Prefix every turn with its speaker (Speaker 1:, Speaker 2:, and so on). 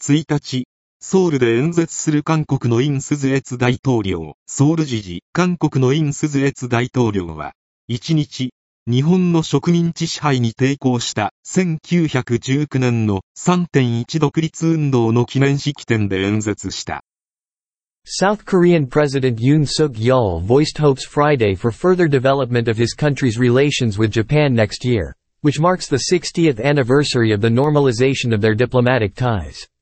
Speaker 1: 1日、ソウルで演説する韓国のイン・スズエツ大統領、ソウル時事、韓国のイン・スズエツ大統領は、1日、日本の植民地支配に抵抗した1919年の 3.1 独立運動の記念式典で演説した。
Speaker 2: South Korean President Yoon Suk-yeol voiced hopes Friday for further development of his country's relations with Japan next year, which marks the 60th anniversary of the normalization of their diplomatic ties.